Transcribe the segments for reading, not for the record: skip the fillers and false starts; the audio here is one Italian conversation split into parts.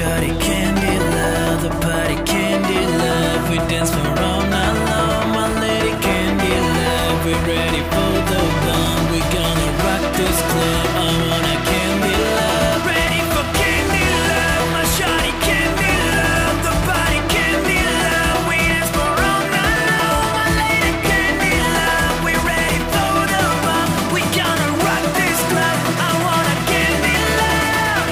shawty candy love, the party candy love. We dance for all night long, my lady candy love. We're ready for the bomb, we gonna rock this club. I wanna candy love, ready for candy love, my shawty candy love, the party candy love. We dance for all night long, my lady candy love. We're ready for the bomb, we gonna rock this club. I wanna candy love.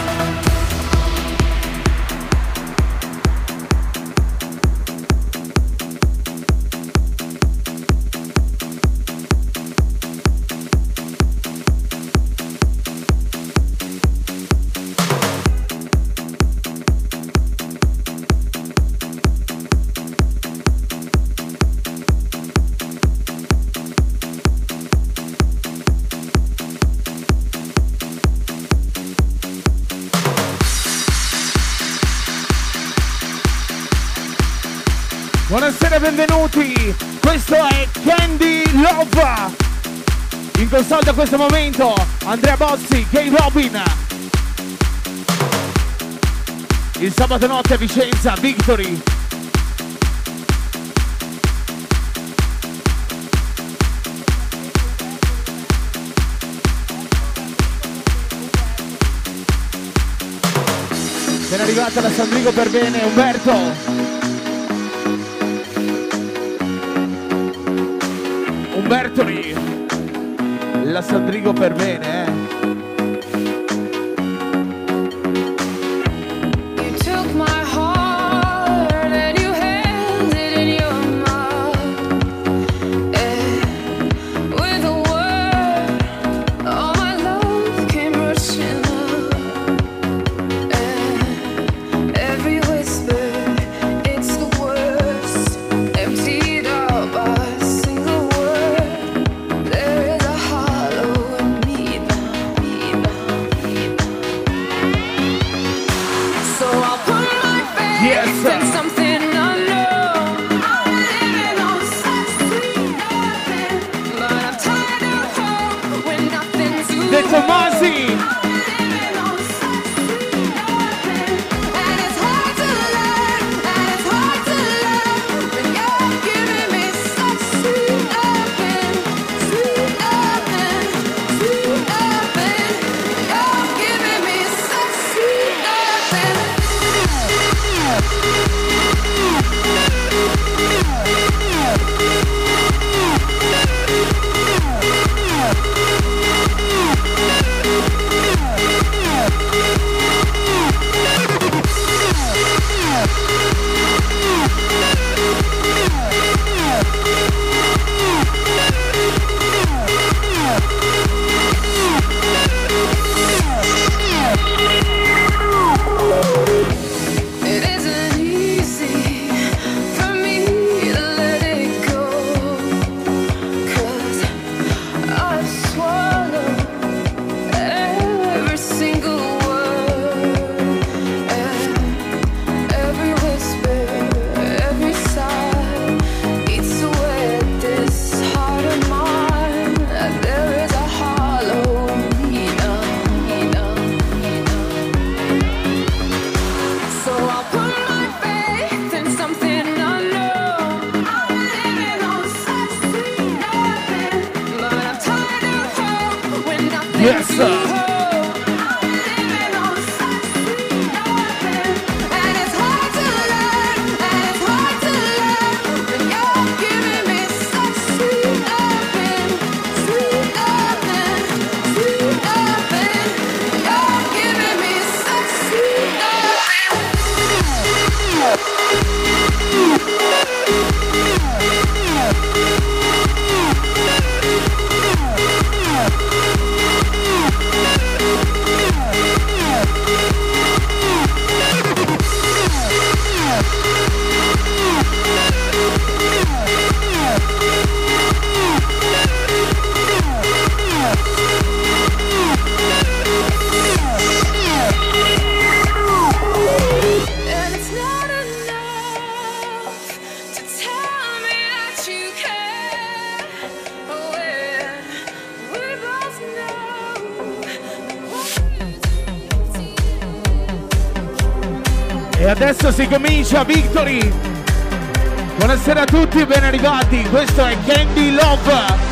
Buonasera e benvenuti, questo è Candy Love. In console a questo momento Andrea Bozzi, Gay Robin. Il sabato notte a Vicenza, Victory. Ben arrivata da San Drigo per bene, Umberto. Umbertoli, la Sandrigo per bene, You took my heart and you held it in your mouth. And with a word, all my love came rushing up. And every whisper, it's the worst, emptied out by a single word. There is a hollow in me now. So I'll put my faith Yes, sir. in something unknown. I'm living on such sweet nothing, but I'm tired of hope when nothing's to De Tomasi. I'm living on such sweet nothing, and it's hard to learn, and it's hard to love when you're giving me such sweet nothing, sweet nothing, sweet nothing. You're giving me such sweet nothing. It isn't easy for me to let it go, 'cause I've swallowed every single word, and every whisper, every sigh eats away at this heart of mine. There is a hollow in me now. So I'll put my faith in something unknown. I'm living on such sweet nothing, but I'm tired of hope when nothing's Yes, to sir. hope. I'm living on such sweet nothing, and it's hard to learn, and it's hard to love when you're giving me such sweet nothing, sweet nothing, sweet nothing. You're giving me such sweet nothing. E adesso si comincia, Victory! Buonasera a tutti, ben arrivati, questo è Candy Love!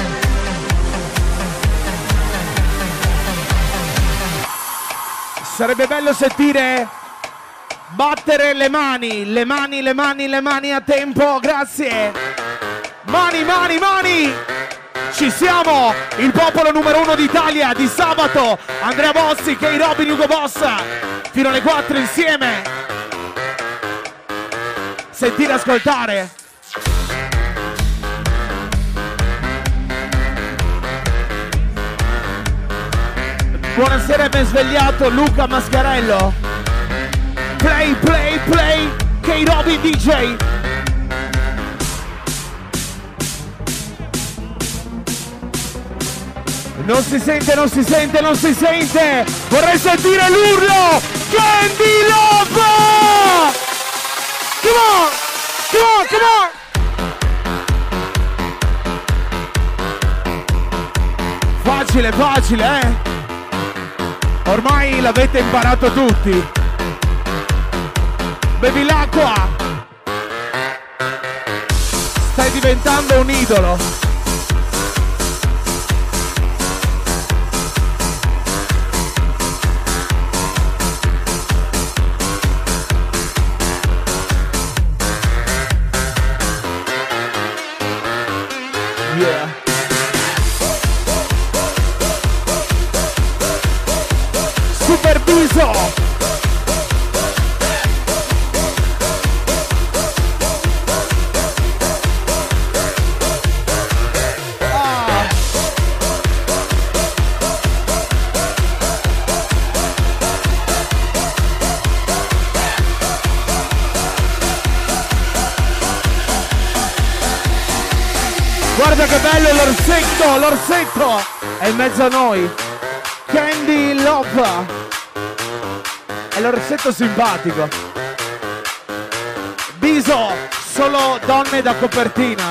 Sarebbe bello sentire battere le mani, le mani, le mani, le mani a tempo, grazie! Mani, mani, mani! Ci siamo! Il popolo numero 1 d'Italia di sabato! Andrea Bossi, Kay Robin, Ugo Bossa! Fino alle 4 insieme! Sentire, ascoltare! Buonasera, ben svegliato Luca Mascarello. Play, play, play, Kay Robin DJ. Non si sente, non si sente, non si sente. Vorrei sentire l'urlo. Candy Love. Come on, come on, come on. Facile, facile, eh. Ormai l'avete imparato tutti. Bevi l'acqua. Stai diventando un idolo. Yeah. Super Biso! Ah. Guarda che bello l'orsetto, l'orsetto! È in mezzo a noi! Candy Love! È l'orsetto simpatico. Biso, solo donne da copertina.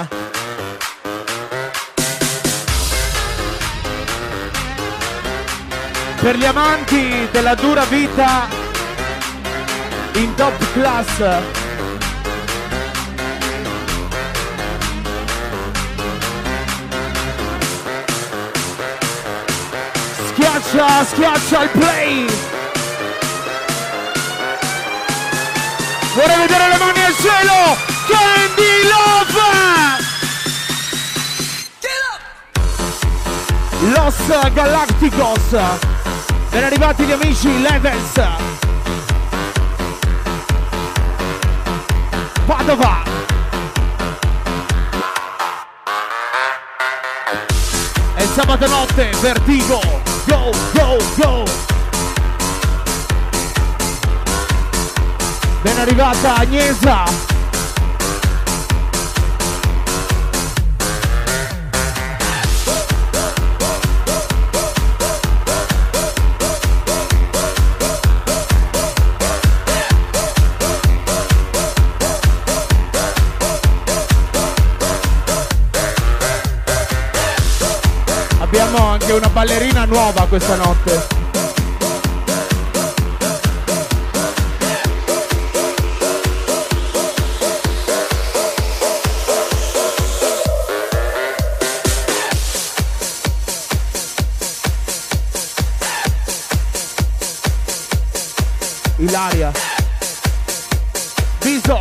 Per gli amanti della dura vita in top class. Schiaccia, schiaccia il play. Vorrei vedere le mani al cielo! Candy Love! Los Galacticos! Ben arrivati gli amici Levels! Padova! E sabato notte, Vertigo! Go, go, go! Ben arrivata Agnesa. Abbiamo anche una ballerina nuova questa notte. Ilaria Biso.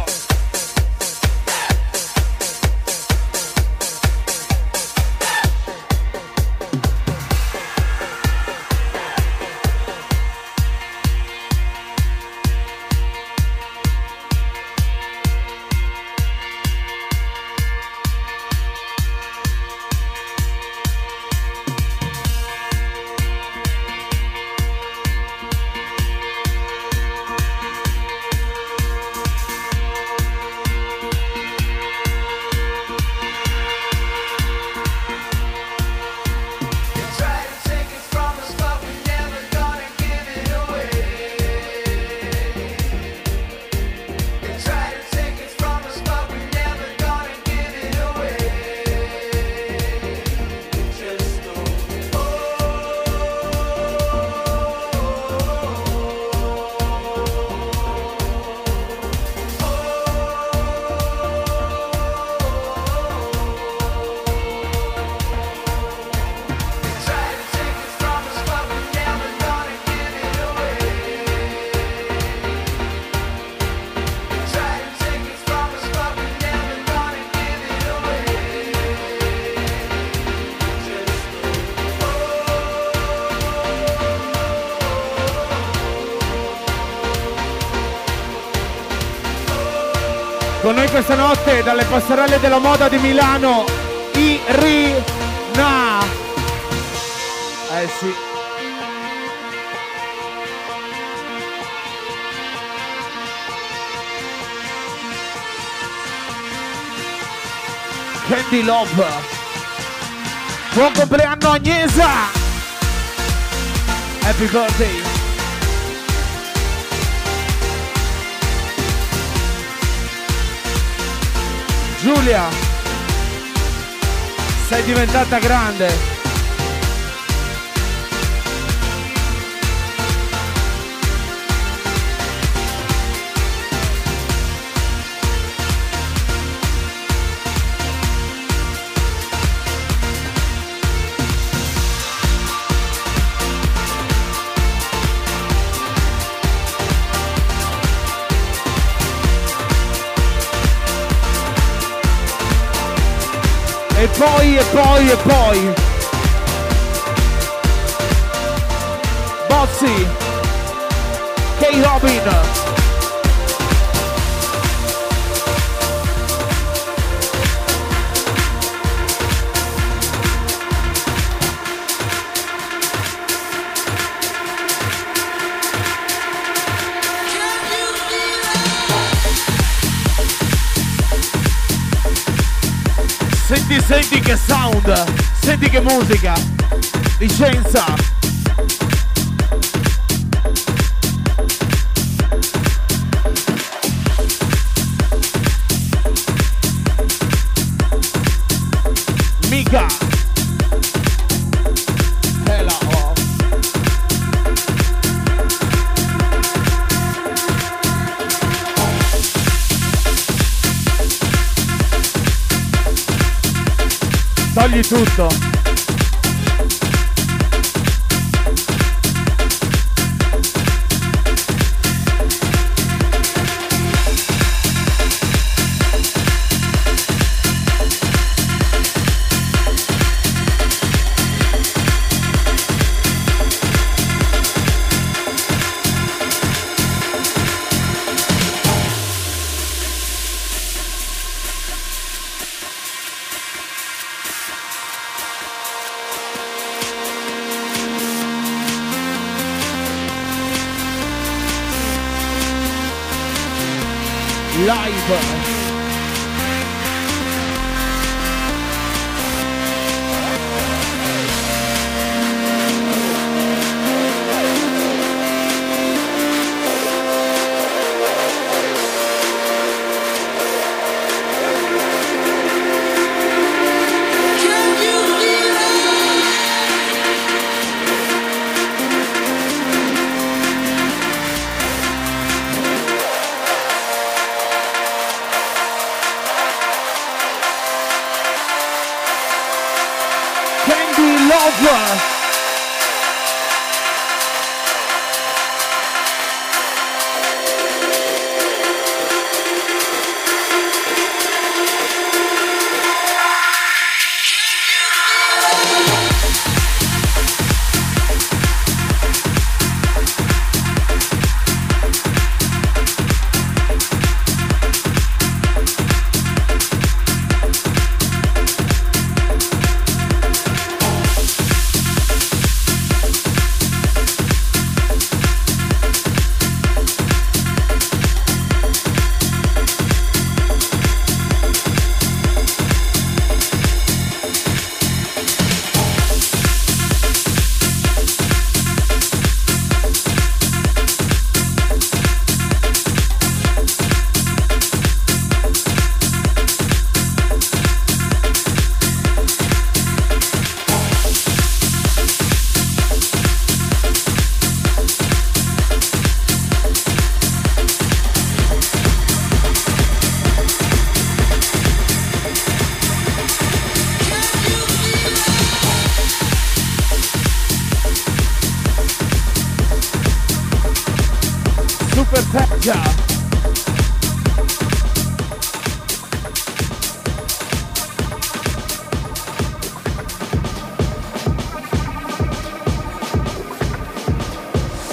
Con noi questa notte dalle passerelle della moda di Milano, Irina. Eh sì. Candy Love. Buon compleanno Agnesa. Happy birthday. Giulia, sei diventata grande. E poi Bozzi, K-Robin. Senti che sound, senti che musica, licenza. Mica. Hello. Togli tutto. Live.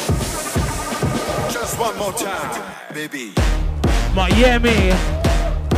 Just one more time, baby. Miami,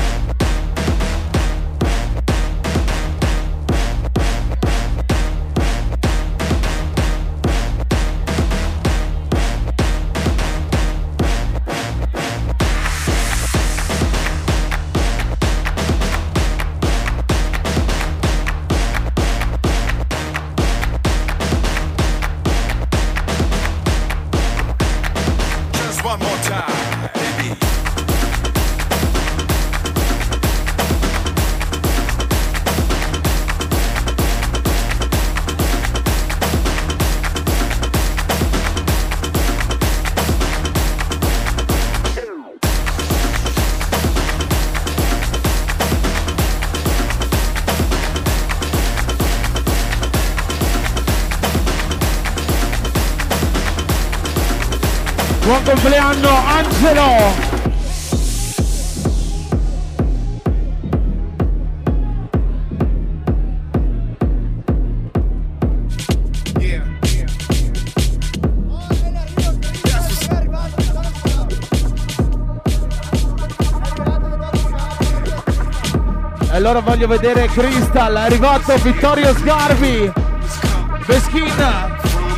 Buon compleanno Angelo! E allora voglio vedere Crystal, è arrivato Vittorio Sgarbi, Beschina.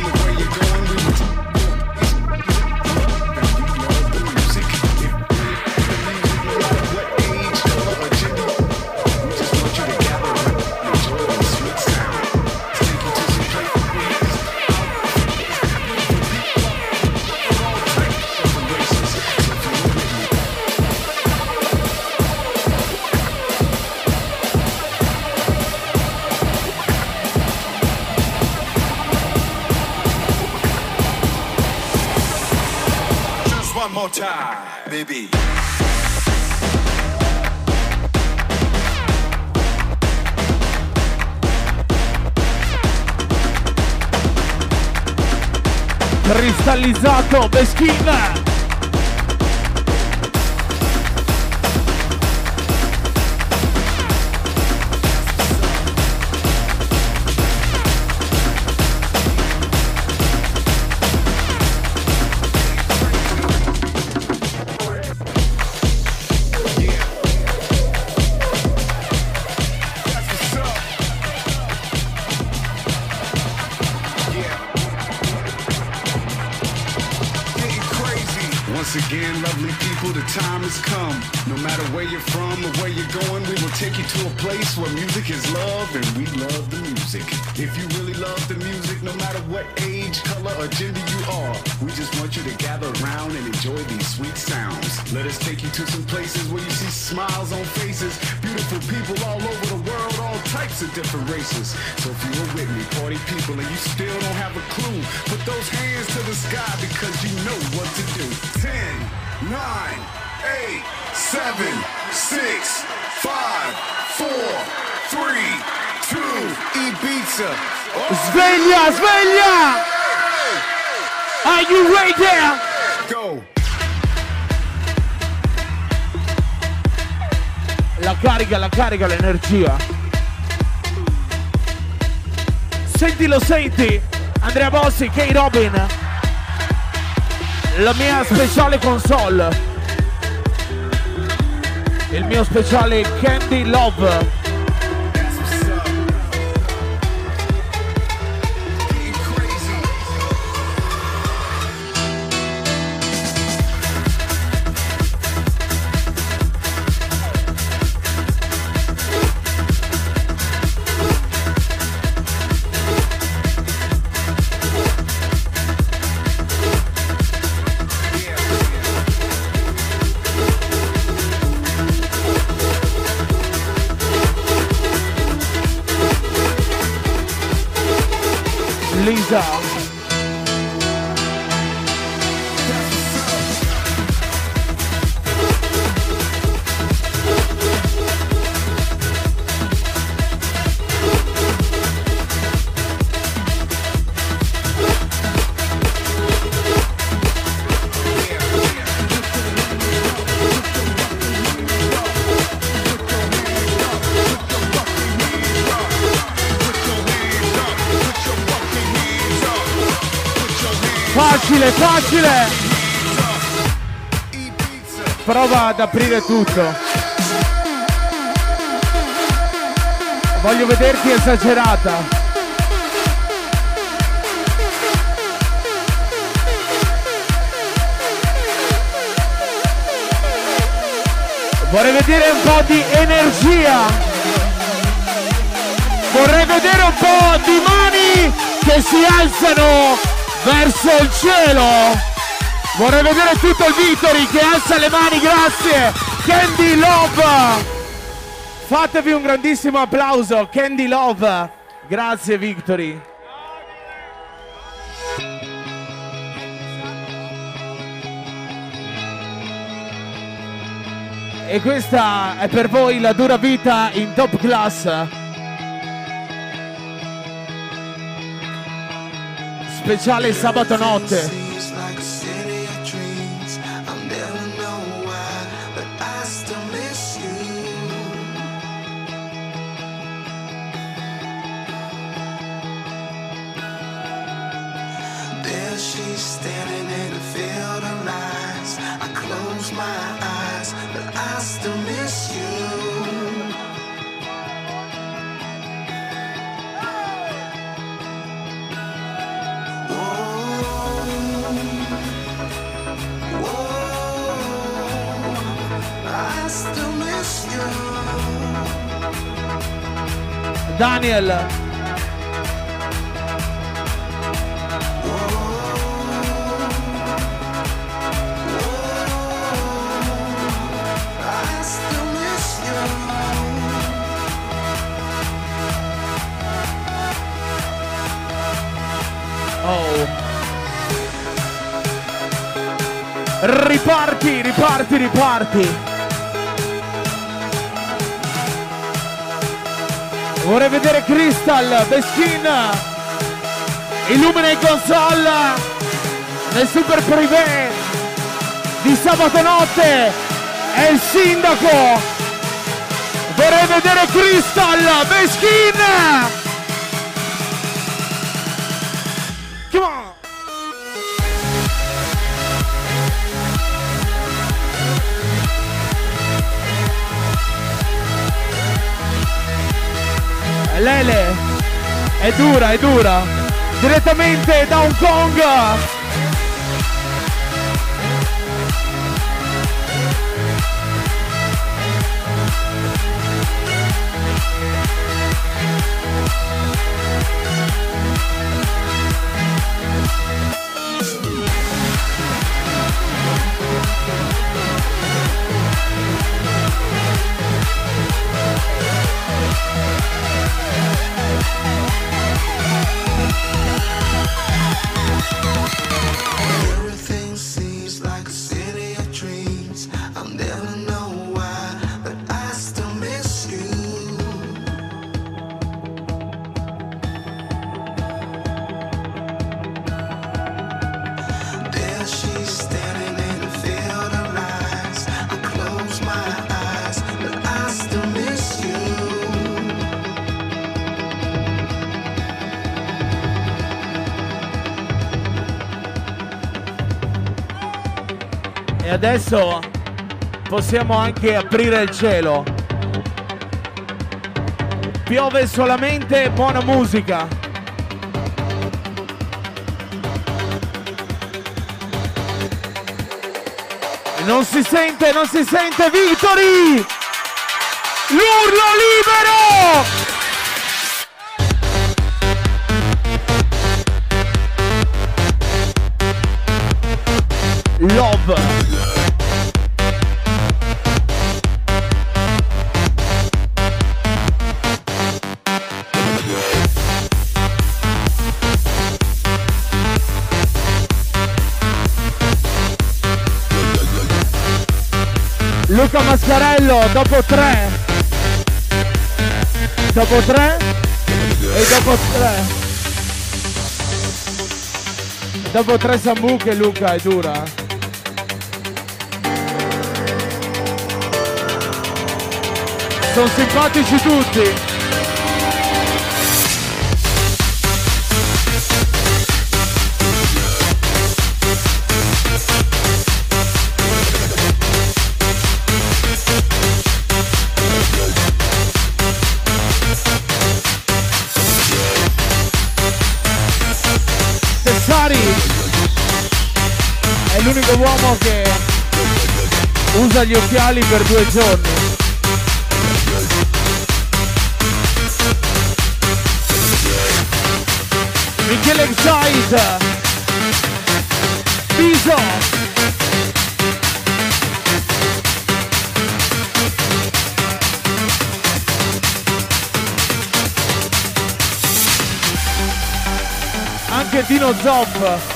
More time, baby. Cristallizzato Beschina. Again, lovely people, the time has come. No matter where you're from or where you're going, we will take you to a place where music is love and we love the music. If you really love the music, no matter what age, color, or gender you are, we just want you to gather around and enjoy these sweet sounds. Let us take you to some places where you see smiles on faces, beautiful people all over the world, all types of different races. So if you were with me, party people, and you still don't have a clue, put those hands to the sky because you know what to do. 10, 9, 8, 7, 6, 5, 4, 3, 2, Ibiza. Sveglia, sveglia! Are you right there? Go. La carica l'energia. Sentilo, senti. Andrea Bossi, K. Robin. La mia speciale console. Il mio speciale Candy Love. Lisa. Facile, facile! Prova ad aprire tutto. Voglio vederti esagerata. Vorrei vedere un po' di energia. Vorrei vedere un po' di mani che si alzano verso il cielo. Vorrei vedere tutto il Victory che alza le mani, grazie. Candy Love. Fatevi un grandissimo applauso, Candy Love. Grazie Victory. E questa è per voi la dura vita in top class. Speciale sabato notte. she's standing in a field of lies. I close my eyes, but I still miss you. I still miss you. Daniel. I still miss you. Oh. Riparti, riparti, riparti. Vorrei vedere Crystal, Beskin, illumina in console nel super privé di sabato notte. È il sindaco. Vorrei vedere Crystal, Beskin. Come on. Lele, è dura, è dura. Direttamente da Hong Kong. Everything seems like a city of dreams. I'll never know why, but I still miss you. There she's standing in a field of lies. I close my eyes, but I still miss you. E adesso possiamo anche aprire il cielo. Piove solamente buona musica. Non si sente, non si sente, Victory! L'urlo libero! Love. Luca Mascarello dopo 3. Dopo 3 e dopo 3. Dopo 3 sambuche Luca è dura. Sono simpatici tutti. Tessari è l'unico uomo che usa gli occhiali per 2 giorni. Michele Excite, Piso, anche Dino Zoff.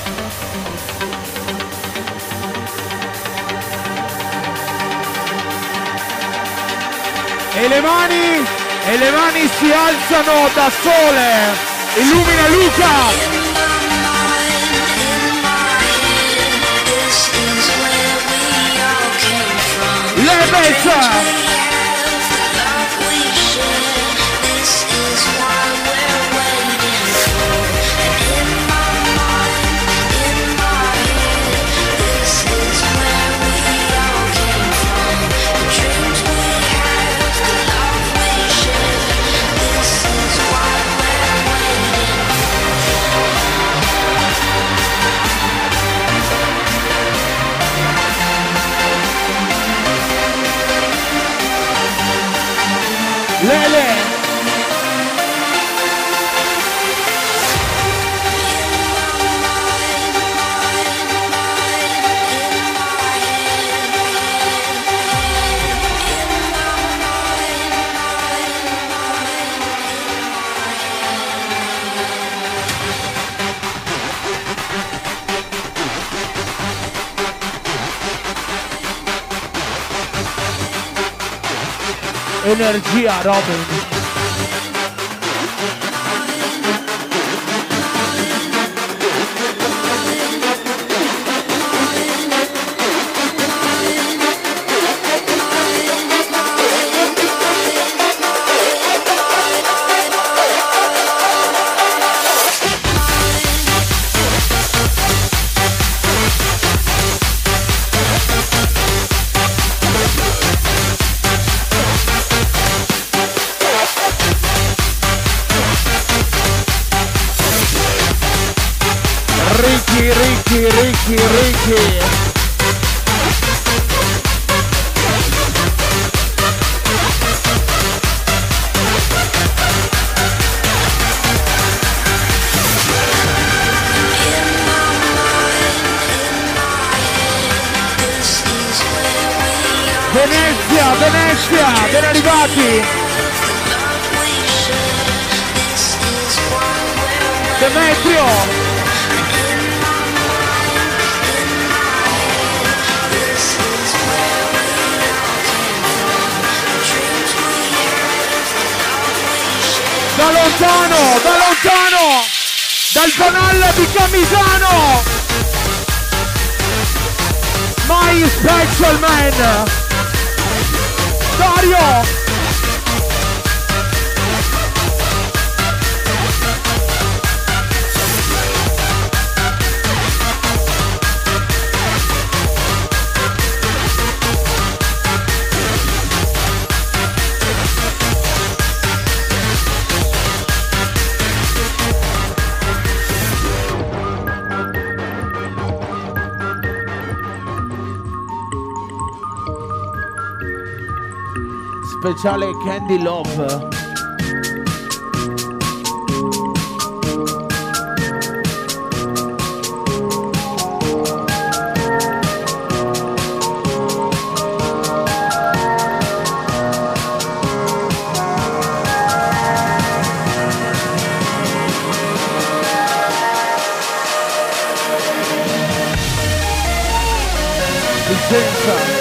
E le mani si alzano da sole. Illumina Luca. Lebez. Lele. Energia, Robin. Ricky. Venezia, ben arrivati. Demetrio. Da lontano, dal canale di Camisano, My Special Man, Dario. Speciale Candy Love. Vicenza.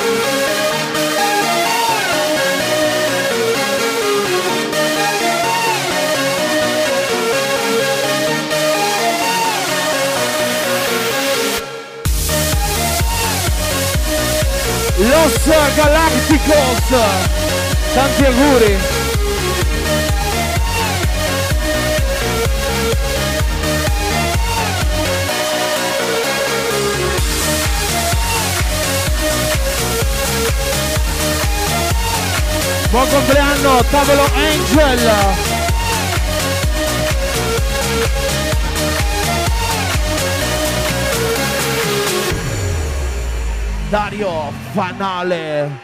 Los Galácticos, tanti auguri. Buon compleanno, tavolo Angel. Dario Fanale.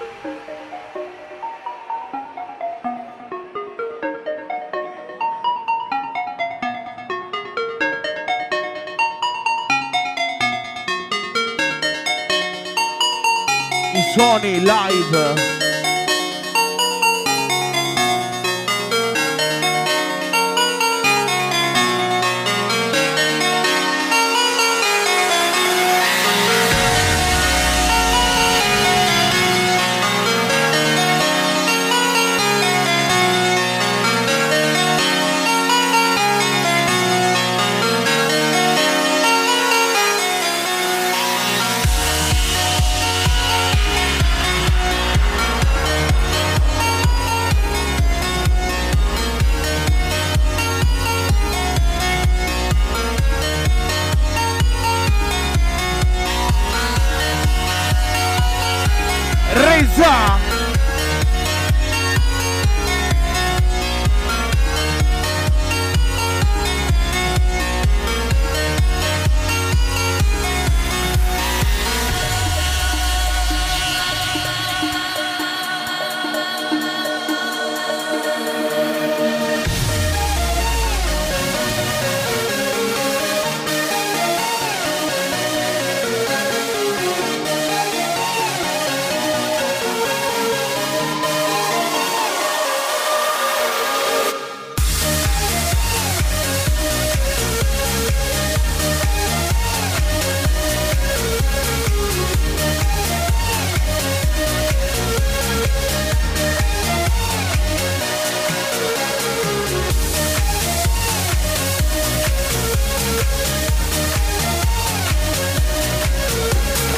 I suoni live. Reza.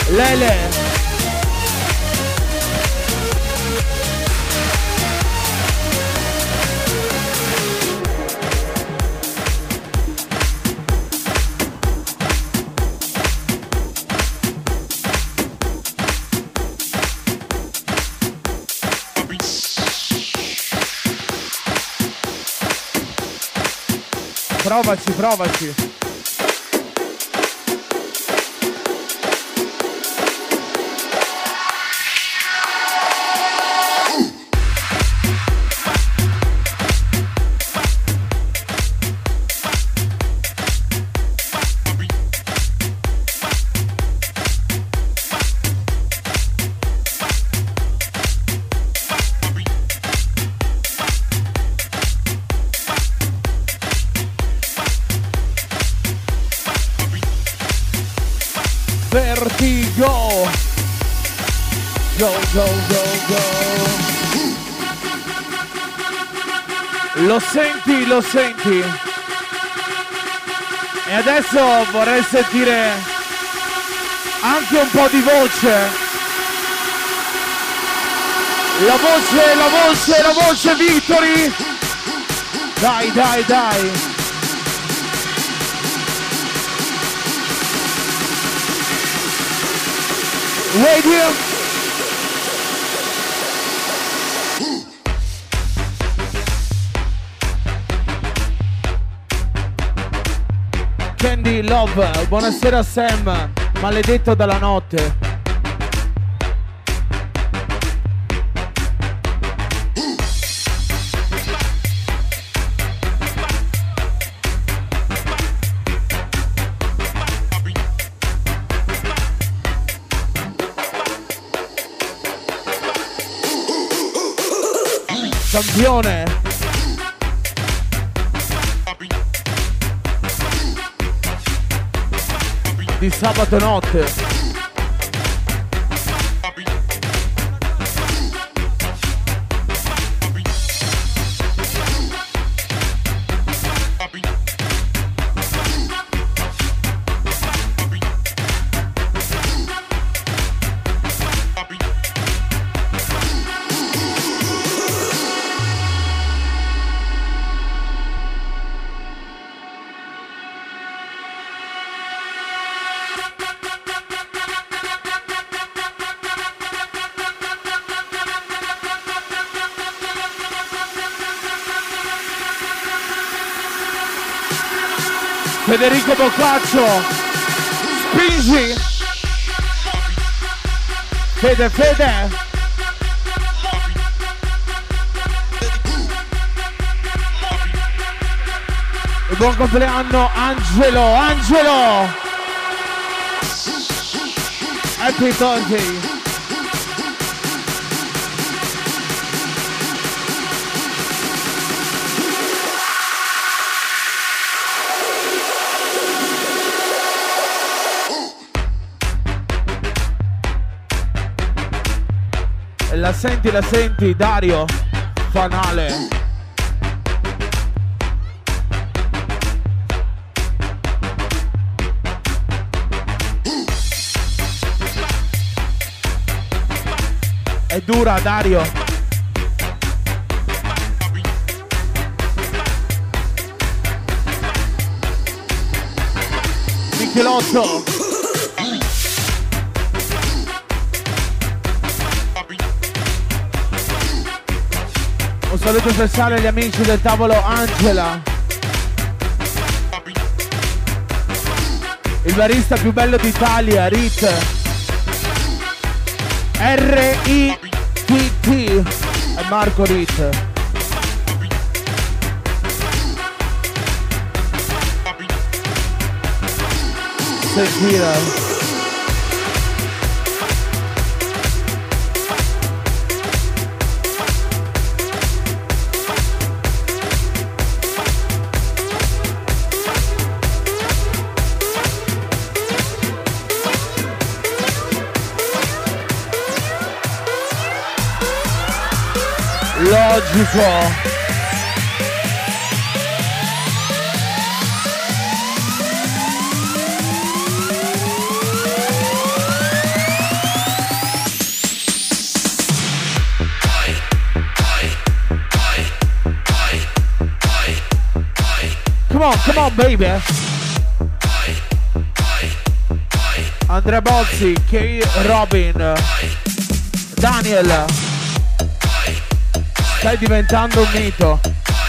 Lele. Provaci, provaci. Vertigo. Go, go, go, go. Lo senti, lo senti. E adesso vorrei sentire anche un po' di voce. La voce, la voce, la voce, Victory. Dai, dai, dai. Radio. Candy Love, buonasera Sam, maledetto dalla notte. Campione. Di sabato notte. Federico Boccaccio, spingi. Fede, Fede. E buon compleanno Angelo, Angelo. Happy birthday. La senti, Dario, Fanale. È dura, Dario. Michelotto. Un saluto speciale agli amici del tavolo Angela. Il barista più bello d'Italia, Rit. R-I-T-T. È Marco Rit. Sentire. Logico. Come on, baby. Andrea Bozzi, K. Robin, Daniel. Stai diventando un mito.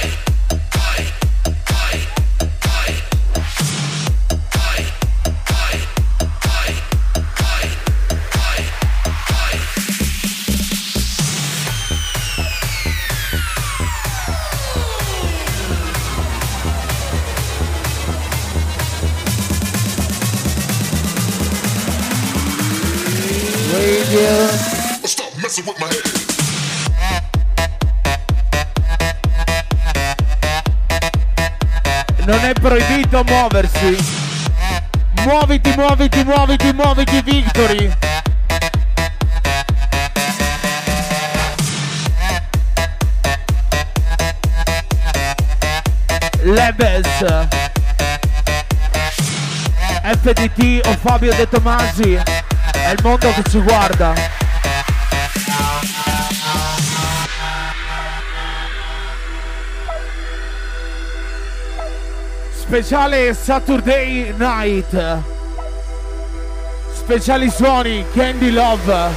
Stop messing with my head. Non è proibito muoversi. Muoviti, muoviti, muoviti, muoviti, Victory. Lebes, FDT o Fabio De Tomasi. È il mondo che ci guarda. Speciale Saturday Night. Speciali suoni Candy Love.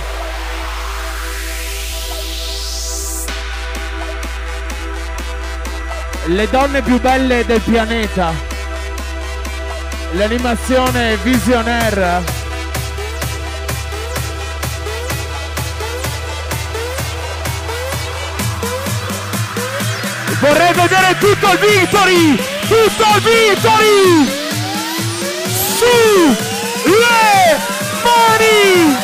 Le donne più belle del pianeta. L'animazione Visionaire. Vorrei vedere tutto il Victory! Tutto il Victory! Su le mani!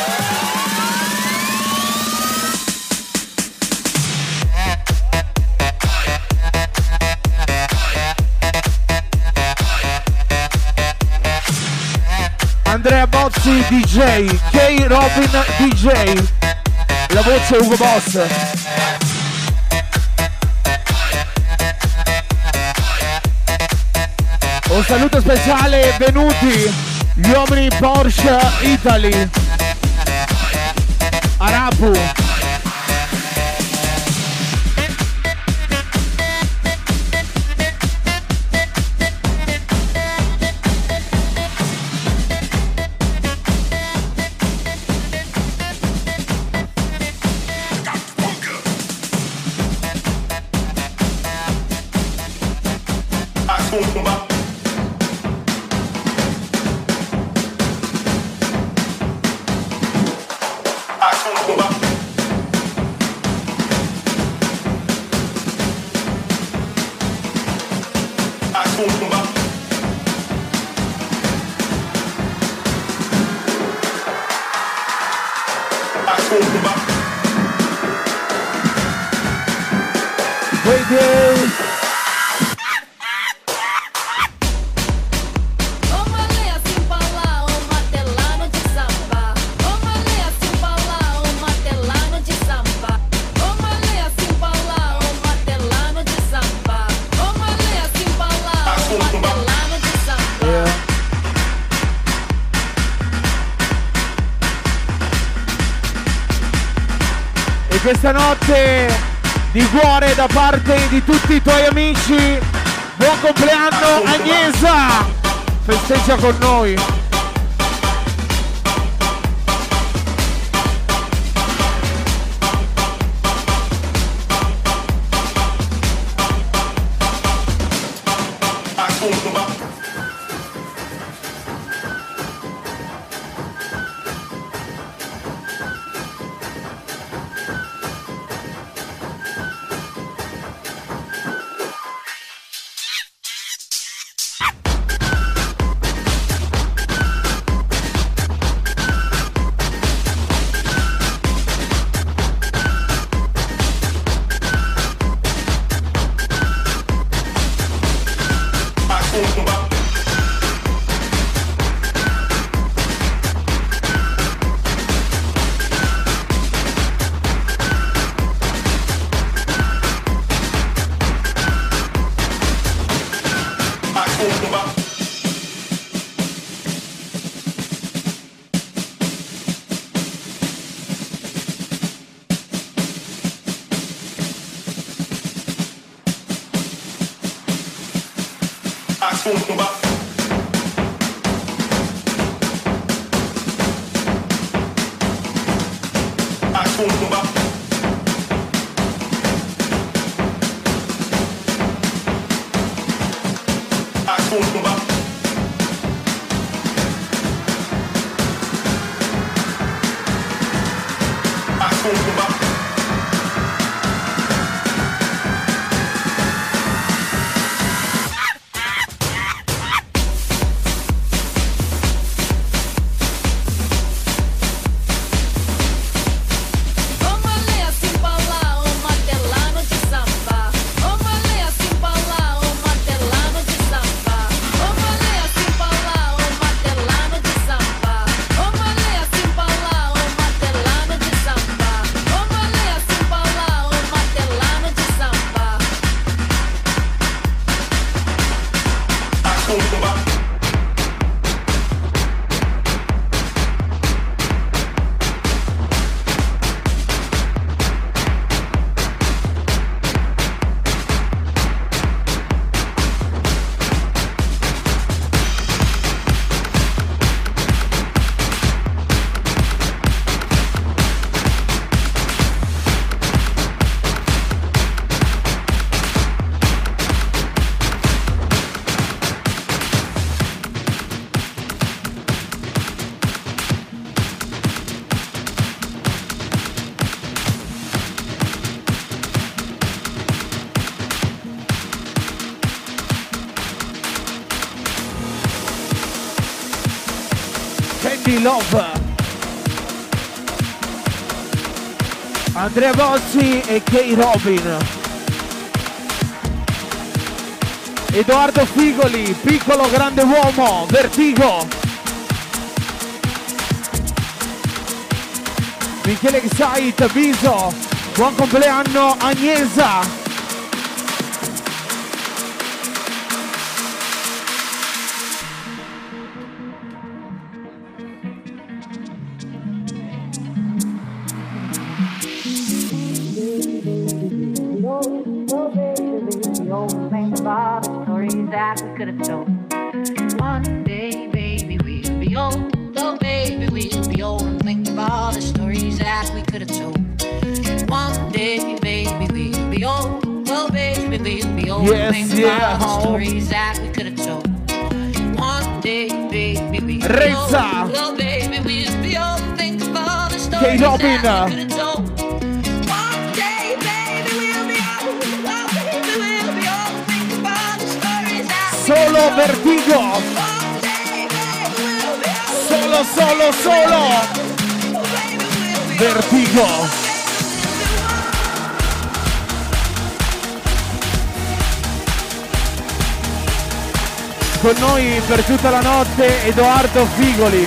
Andrea Bozzi DJ, K. Robin DJ, la voce Ugo Boss. Un saluto speciale, venuti gli uomini Porsche Italy, Arapu. Questa notte di cuore da parte di tutti i tuoi amici, buon compleanno Agnesa, festeggia con noi. Candy Love, Andrea Bossi e Kay Robin, Edoardo Figoli, piccolo grande uomo, Vertigo, Michele Xait, Biso, buon compleanno Agnesa. One day, baby, we'll be old. Oh, baby, we'll be old and think of all the stories that we could have told. One day, baby, we'll be old. Oh, baby, we'll be old and think of all the stories that we could have told. One day, baby, we'll be old. Oh, baby, we'll be old and think of all the stories that we could have told. One day, baby, we'll be old. Oh, baby, we'll be old and think of all the stories that we could have told. Solo Vertigo. Solo Vertigo. Con noi per tutta la notte Edoardo Figoli.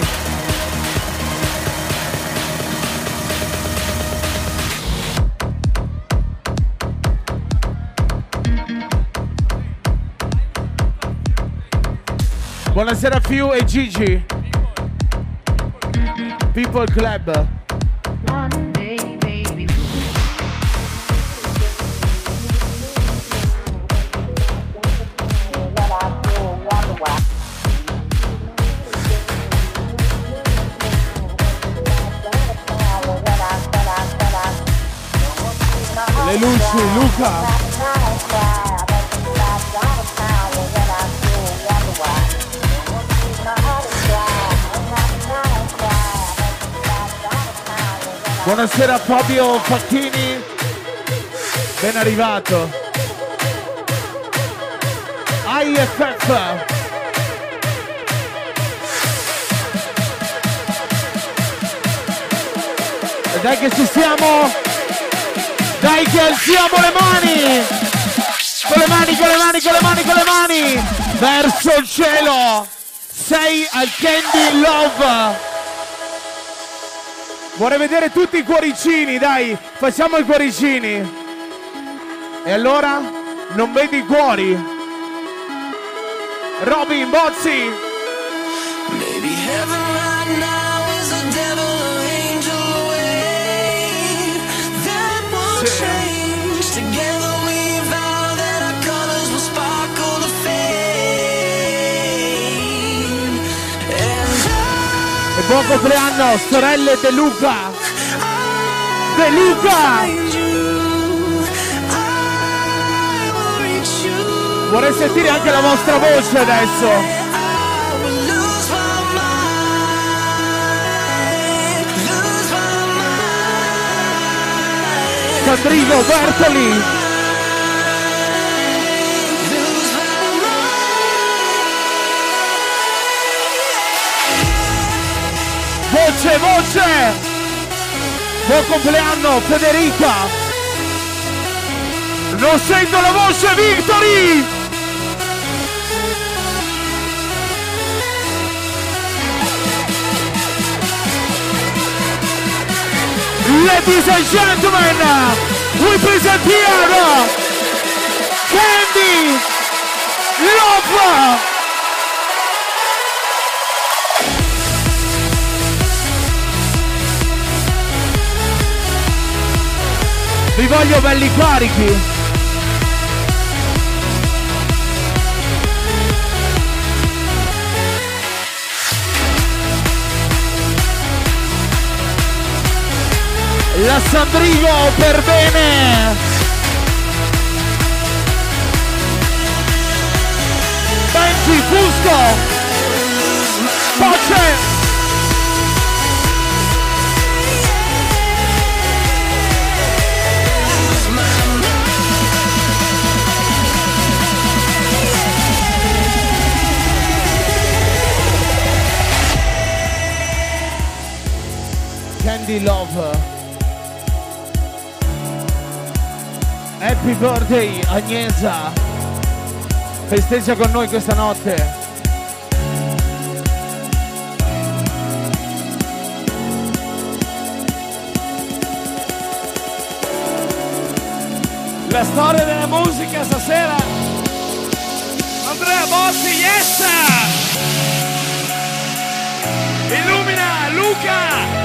Buonasera Fiu e Gigi. People Club. One day, baby. Le luci, Luca. Buonasera Fabio Facchini, ben arrivato. IFF. E dai che ci siamo, dai che alziamo le mani, con le mani, con le mani, con le mani, con le mani, verso il cielo. Sei al Candy Love. Vorrei vedere tutti i cuoricini, dai, facciamo i cuoricini. E allora, non vedi i cuori? Robin, Bozzi. Maybe heaven right now is a devil or angel away. That won't change. Together we vow that our colors will sparkle the fade. Buon compleanno, sorelle De Luca! De Luca! Vorrei sentire anche la vostra voce adesso! Sandrino Bertoli! Voce, voce! Buon compleanno Federica! Non sento la voce Victory! Ladies and gentlemen, we present here Candy Love! Vi voglio belli carichi! La Sandrino per bene! Benji, Fusco! Pace! Candy Love. Happy birthday Agnesa. Festeggia con noi questa notte. La storia della musica stasera. Andrea Bossi, yes! Illumina Luca!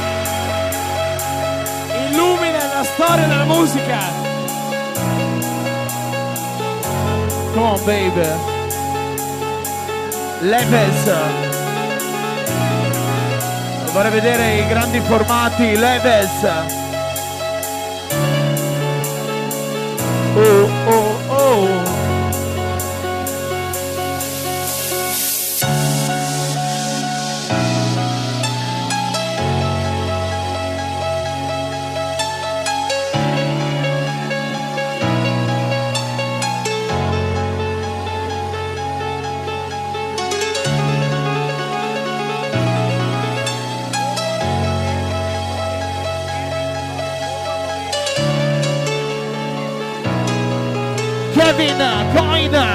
Illumina la storia della musica. Come on baby. Leves. Vorrei vedere i grandi formati. Leves. Oh oh oh. Kevin Coin.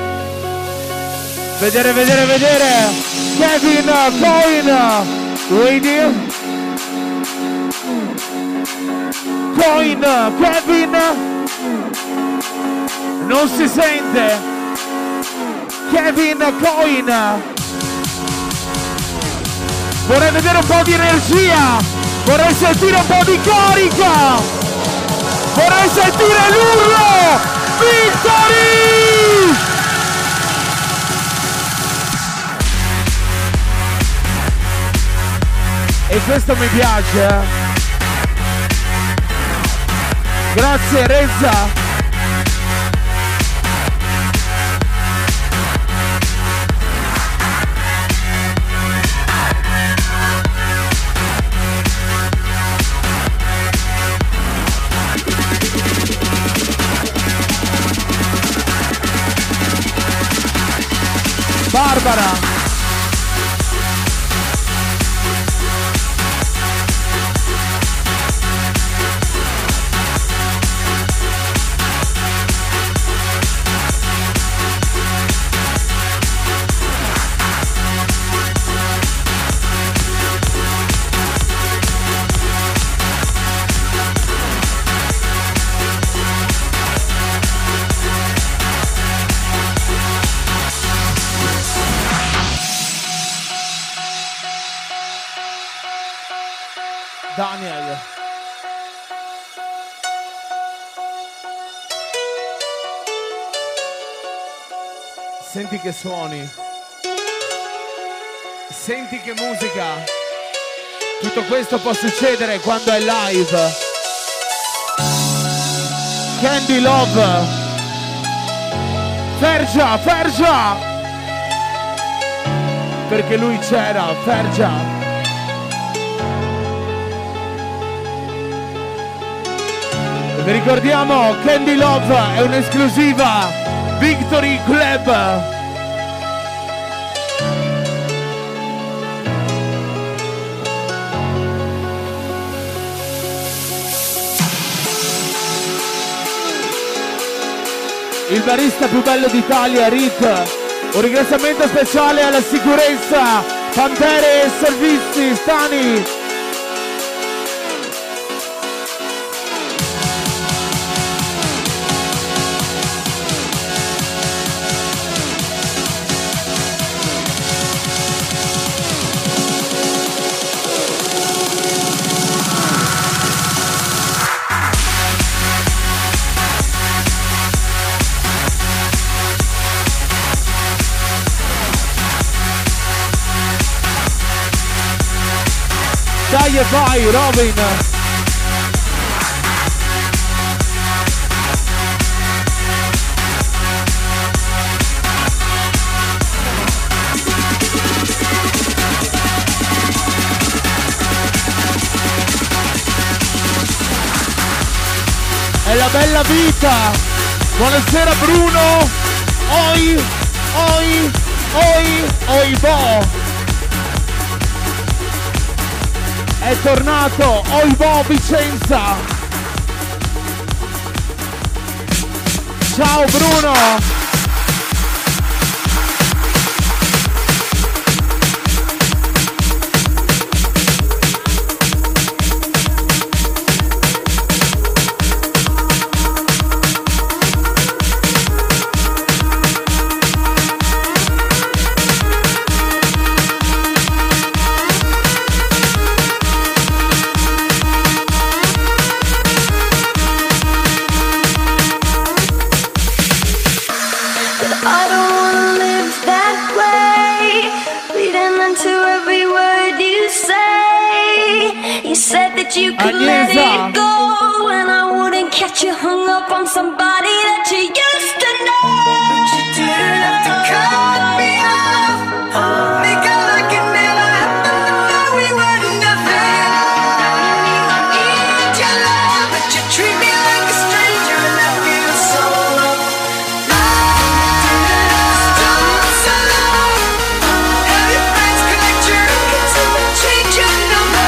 Vedere, vedere, vedere. Kevin Coin. Radio. Coin. Kevin. Non si sente. Kevin Coin. Vorrei vedere un po' di energia. Vorrei sentire un po' di carica. Vorrei sentire l'urlo. Victory! E questo mi piace, eh? Grazie Rezza. Barbara. Daniel. Senti che suoni. Senti che musica. Tutto questo può succedere quando è live. Candy Love. Fergia, Fergia. Perché lui c'era, Fergia. Vi ricordiamo, Candy Love è un'esclusiva Victory Club. Il barista più bello d'Italia, Rit. Un ringraziamento speciale alla sicurezza, Pantere e Servizi, Stani. Dai e vai, Robin! È la bella vita! Buonasera Bruno! Oi! Oi! Oi! Oi bo! È tornato Oibo Vicenza. Ciao Bruno. You could let it go, and I wouldn't catch you hung up on somebody that you used to know. You didn't have to cut me off, make it like it never happened. Now we were nothing. Now you need your love, but you treat me like a stranger, and I feel so alone. I didn't have to stop so long. Have your friends collect your records and change your number.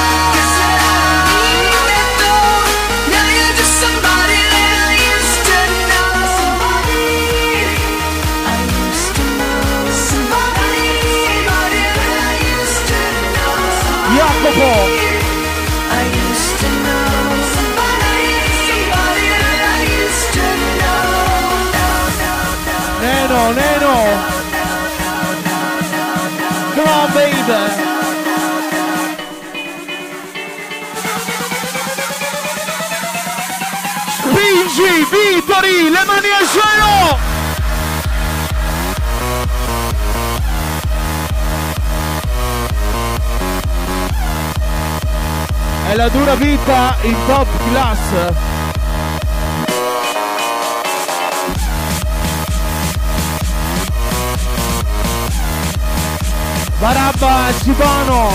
Jacopo! Neno, Neno! Come on, baby! Spingi, Vittori, le mani al cielo! È la dura vita in top class. Barabba Cibano.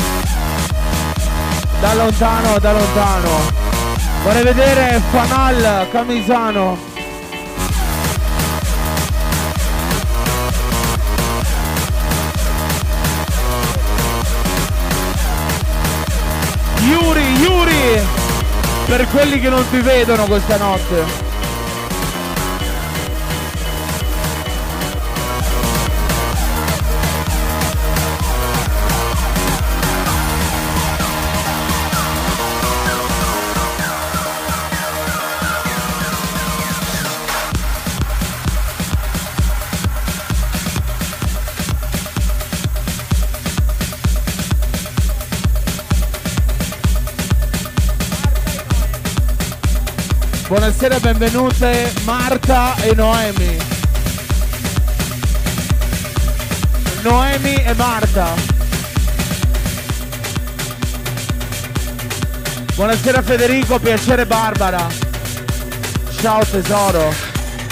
Da lontano, da lontano. Vorrei vedere Fanal Camisano. Yuri, per quelli che non ti vedono questa notte. Buonasera, benvenute Marta e Noemi. Noemi e Marta. Buonasera Federico, piacere Barbara. Ciao tesoro.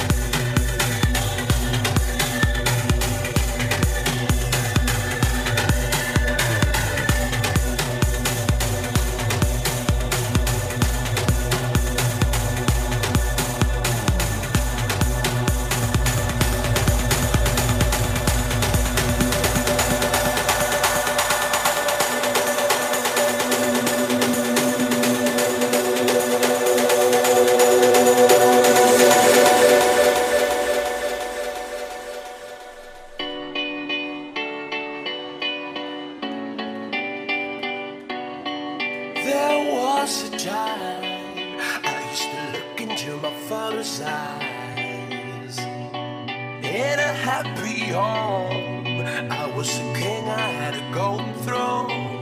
There was a time I used to look into my father's eyes. In a happy home, I was a king, I had a golden throne.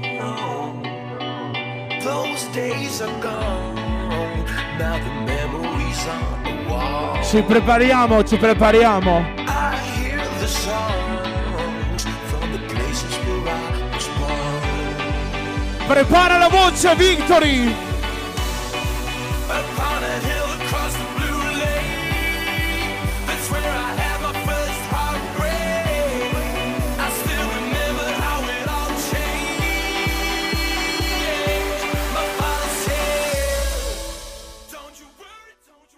Those days are gone, now the memories on the wall. Ci prepariamo, ci prepariamo. I hear the songs from the places where I was born. Prepara la voce, Victory! Upon a hill across the blue lake, that's where I had my first heartbreak. I still remember how it all changed. My father said, don't you worry,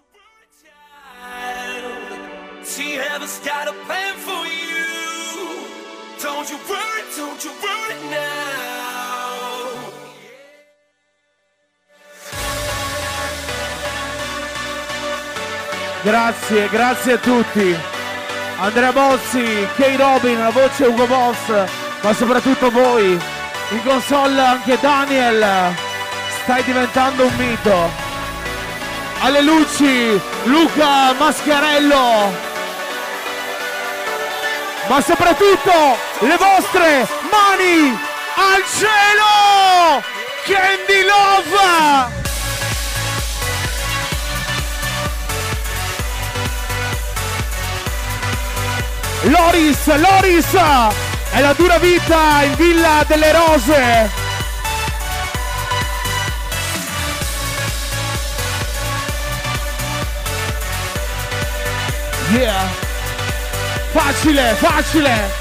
child. See, heaven's got a plan for you. Don't you worry now. Grazie, grazie a tutti. Andrea Bossi, Kay Robin, la voce Ugo Boss, ma soprattutto voi. In console anche Daniel. Stai diventando un mito. Alle luci, Luca Mascarello. Ma soprattutto le vostre mani al cielo! Candy Love! Loris, Loris! È la dura vita in Villa delle Rose! Yeah! Facile, facile!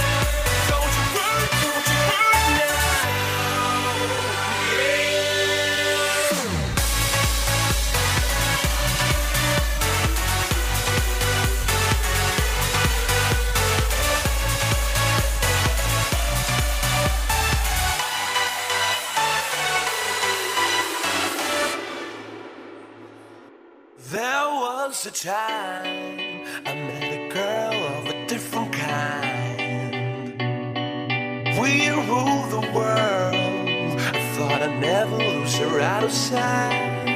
There was a time I met a girl of a different kind. We ruled the world. I thought I'd never lose her out of sight.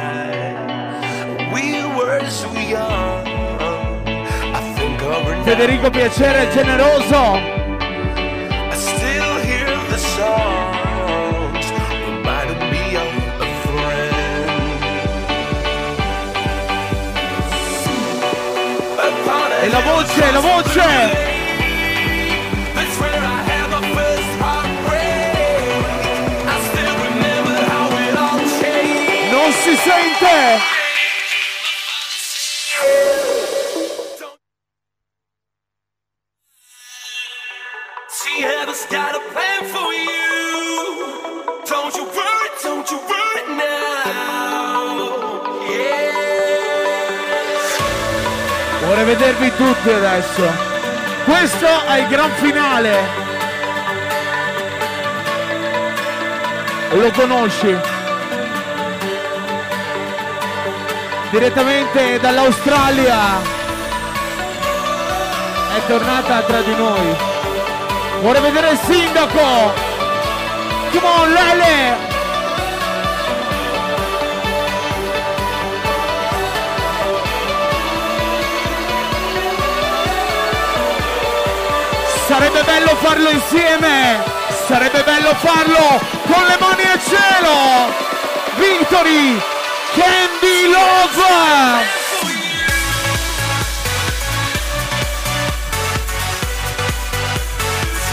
We were so young. I think of her now. Federico Piacere generoso! I still hear the songs reminding me of a friend. E la voce, la voce! That's where I had my first heartbreak. I still remember how it all changed. Non si sente! See, heaven's got a plan for you. Don't you worry now. Yeah. Vorrei vedervi tutti adesso. Questo è il gran finale. Lo conosci? Direttamente dall'Australia. È tornata tra di noi. Vorrei vedere il sindaco. Come on, Lele. Sarebbe bello farlo insieme, sarebbe bello farlo con le mani al cielo. Victory, Candy Love.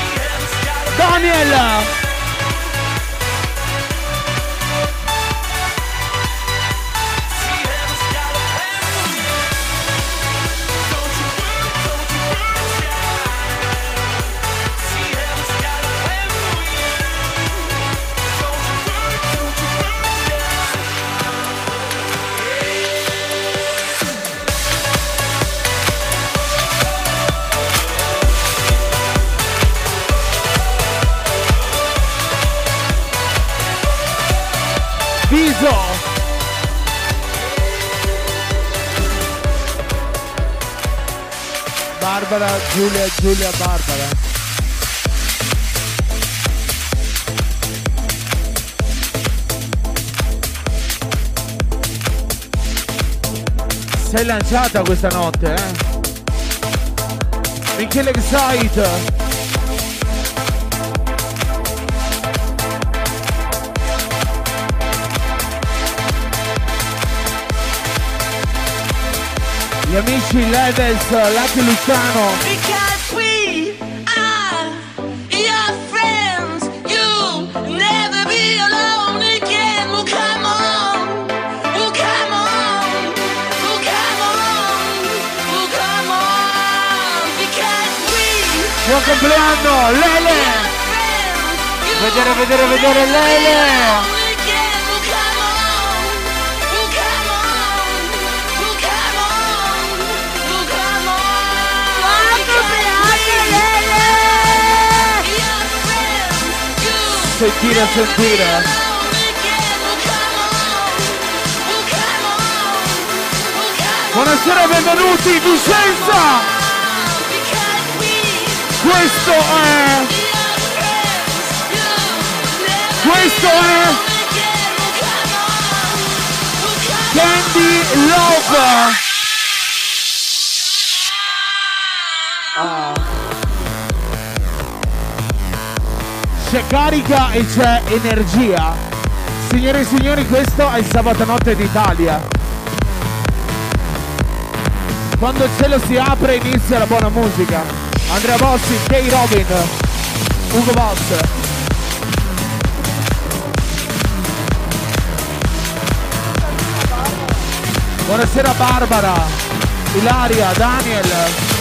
Daniel. Viso. Barbara, Giulia, Barbara. Sei lanciata questa notte, Michele Excite. Gli amici Levels, Lucky Luciano. Because we are your friends, you'll never be alone again. Well, come on, well, come on, well, come on, well, come on. Because we Buon compleanno, Lele! Vedere Lele! Sentire. Buonasera, benvenuti, Vicenza! Questo è Candy Love. C'è carica e c'è energia. Signore e signori, questo è il sabato notte d'Italia. Quando il cielo si apre inizia la buona musica. Andrea Bossi, Kay Robin, Ugo Boss. Buonasera Barbara, Ilaria, Daniel.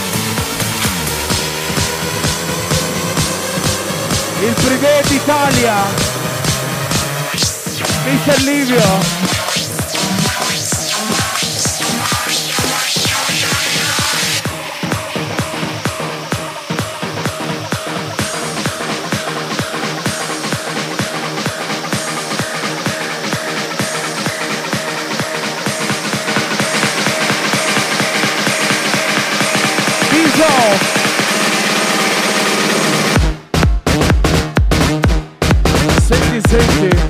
Il privé d'Italia, Mr. Livio. Viso. Senti.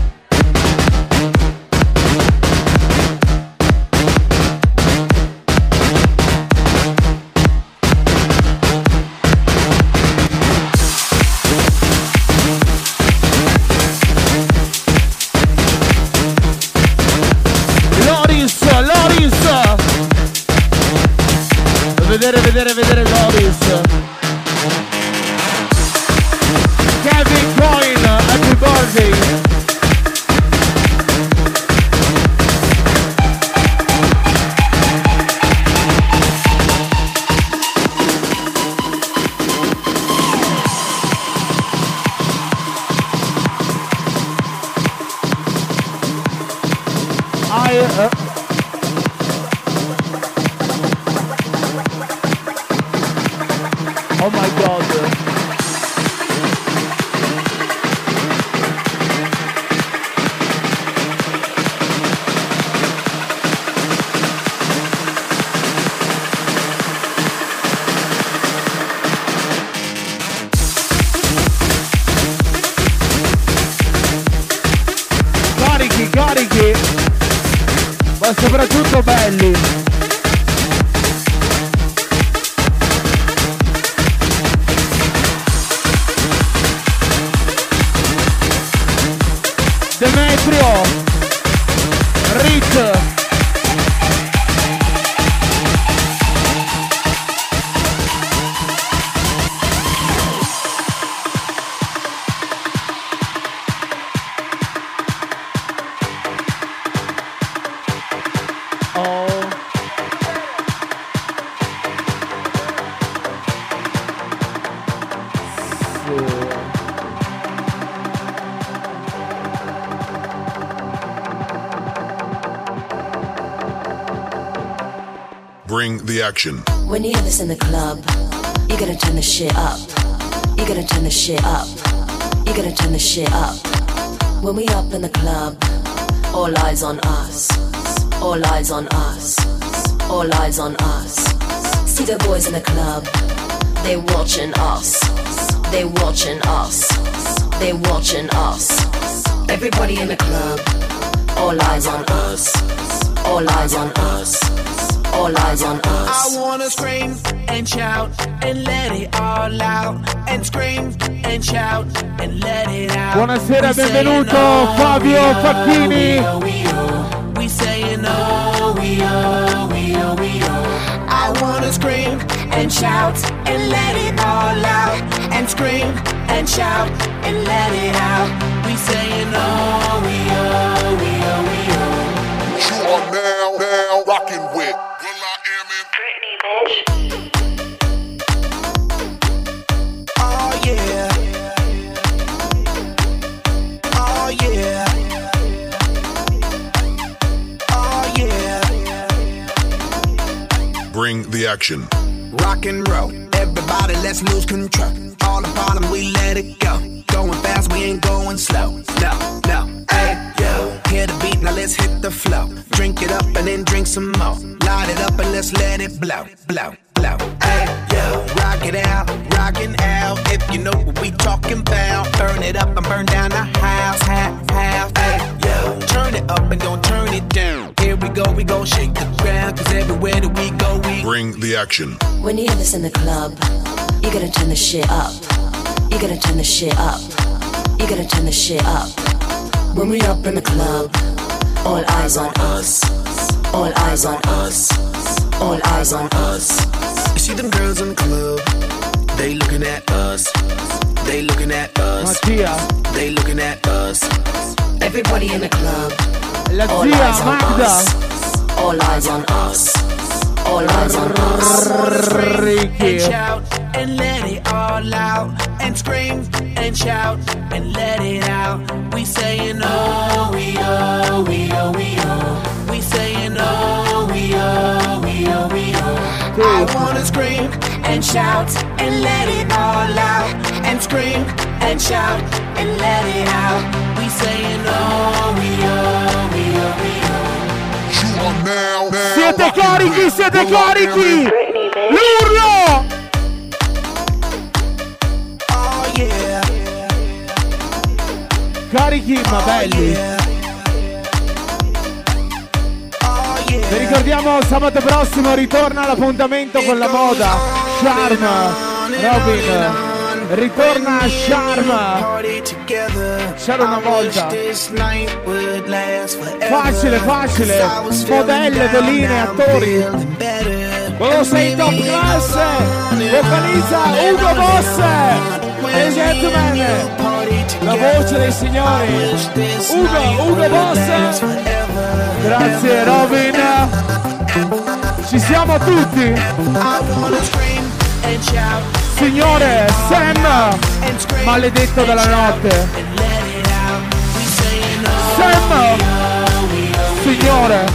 Loris. Vedere Loris. Kevin Coyne, happy birthday. Oh my God. Carichi, ma soprattutto belli. Demetrio, Rich. Bring the action. When you hear this in the club, you gotta turn the shit up. You gotta turn the shit up. You gotta turn the shit up. When we up in the club, All eyes on us. All eyes on us. All eyes on us. See the boys in the club. They watching us. They watching us. They watching us. Everybody in the club. All eyes on us. All eyes on us. All eyes on us. I wanna scream and shout and let it all out. And scream and shout and let it out. Buonasera, benvenuto Fabio Facchini. We saying oh, we oh, we oh, we oh. I wanna scream and shout and let it all out. And scream and shout and let it out. We saying oh, we oh, we oh, we oh. You are now rocking with Will I Am in Britney, bitch. Oh yeah. Oh yeah. Oh yeah. Bring the Action. Rock and roll, everybody let's lose control. All the problem we let it go. Going fast, we ain't going slow. No, no, hey, yo. Hear the beat, now let's hit the flow. Drink it up and then drink some more. Light it up and let's let it blow, blow, blow. Hey, yo. Rock it out, rockin' out. If you know what we talking about. Burn it up and burn down the house, house. Hey, yo. Turn it up and don't turn it down. Here we go shake the ground. Cause everywhere that we go, we Bring the Action. When you hear this in the club, you gotta turn the shit up. You gotta turn the shit up. You gotta turn the shit up. When we up in the club, all eyes on us. All eyes on us. All eyes on us. You see them girls in the club, they looking at us. They looking at us. Mattia, They looking at us. Everybody in the club, la all eyes zia on Magda. us. All eyes on us. All eyes on us. And Ricky. shout and let it all out. And scream and shout and let it out. We saying oh, we oh, we oh, we oh. We saying oh, we oh, we oh, we oh. I wanna scream and shout and let it all out. And scream and shout and let it out. We saying oh, we oh, we oh, we oh. You are now Siete carichi, siete carichi. Britney, bitch. L'urlo. Oh yeah. Carichi ma belli. Oh yeah. Vi ricordiamo sabato prossimo ritorna l'appuntamento con la moda. Charm. Robin. Ritorna a Charm. C'era una volta. Facile, facile. Modelle, veline, attori. Quello sei in top class. Vocalizza Ugo Boss. E gentlemen, la voce dei signori. Ugo Boss. Grazie Robin. Ci siamo tutti. Signore Sam, maledetto dalla notte. Sam, signore.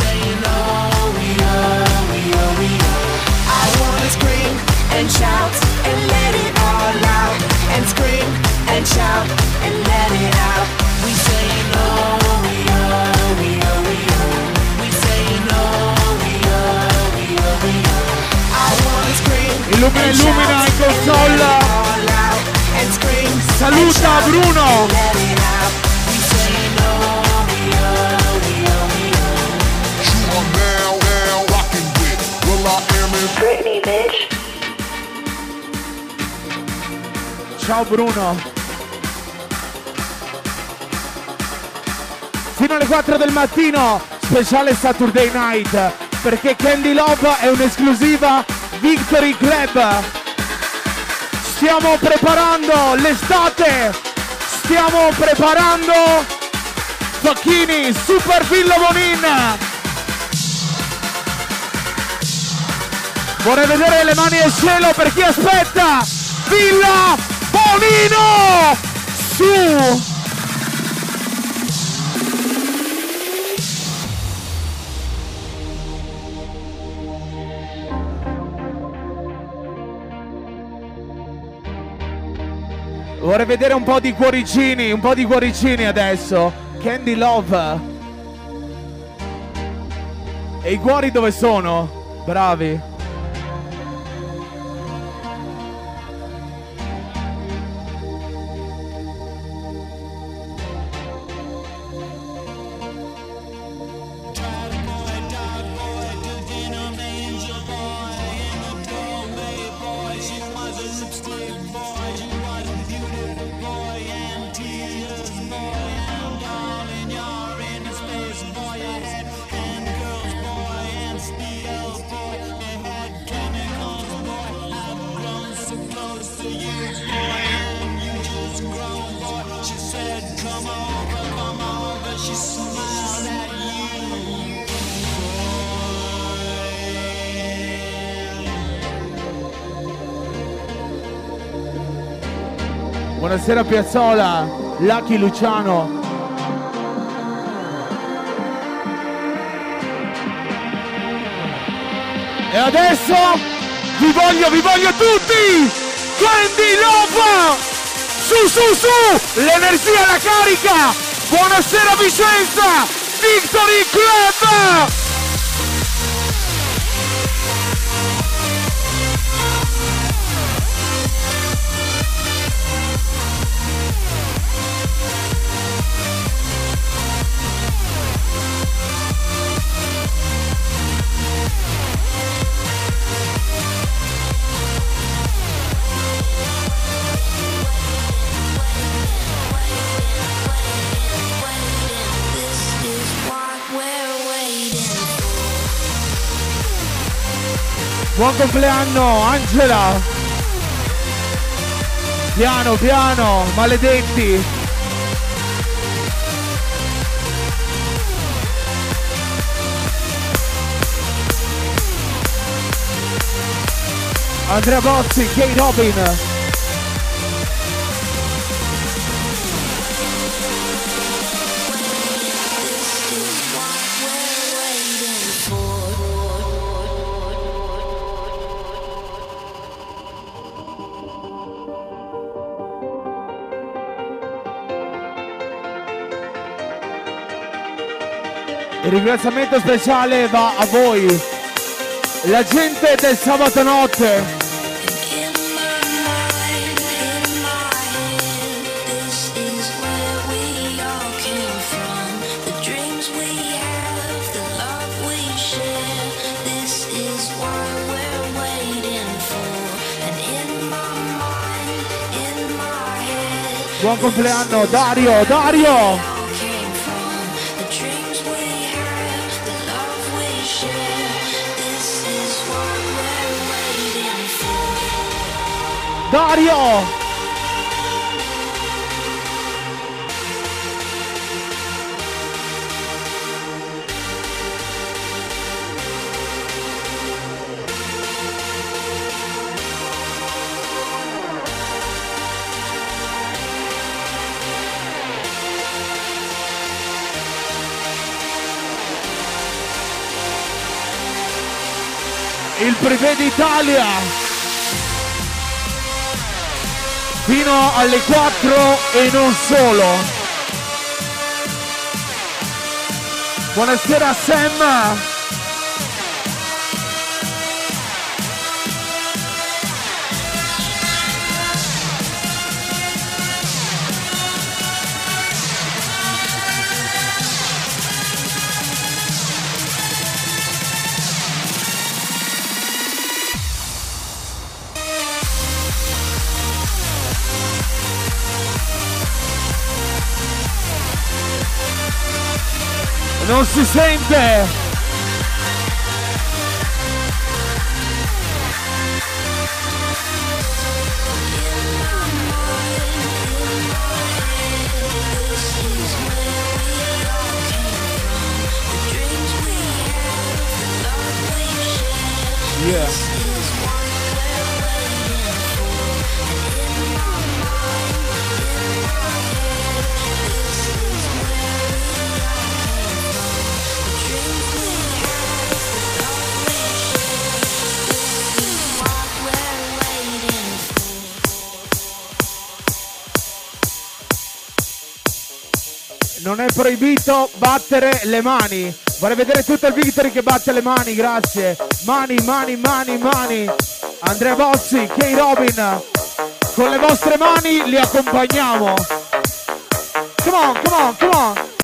I wanna scream and shout and let it all out. And scream and shout and let it out. We say no, we oh, we oh, we oh. We say no, we oh, we oh, we oh. I wanna scream. Illumina in console. All out and scream. Saluta Bruno. Let it out. We say no, we oh, we oh, we oh. You are now rocking with Will I Am in Britney, bitch. Ciao Bruno. Fino alle 4 del mattino, speciale Saturday Night, perché Candy Love è un'esclusiva Victory Club. Stiamo preparando l'estate, stiamo preparando Facchini, Super Villa Bonin. Vorrei vedere le mani al cielo per chi aspetta Villa Bonino! Su! Vorrei vedere un po' di cuoricini adesso. Candy Love. E i cuori dove sono? Bravi. Buonasera Piazzola, Lucky Luciano. E adesso vi voglio tutti! Candy Love! Su! L'energia, la carica! Buonasera Vicenza! Victory Club! Buon compleanno Angela! Piano, maledetti! Andrea Bozzi, Kate Robin! Il ringraziamento speciale va a voi, la gente del sabato notte. Buon compleanno Dario! Dario! Il privé d'Italia fino alle 4 e non solo. Buonasera Sam. Non si sente! Yeah. Non è proibito battere le mani. Vorrei vedere tutto il Victory che batte le mani, grazie. Mani, mani, mani, mani. Andrea Bossi, Kay Robin. Con le vostre mani li accompagniamo. Come on, come on, come on.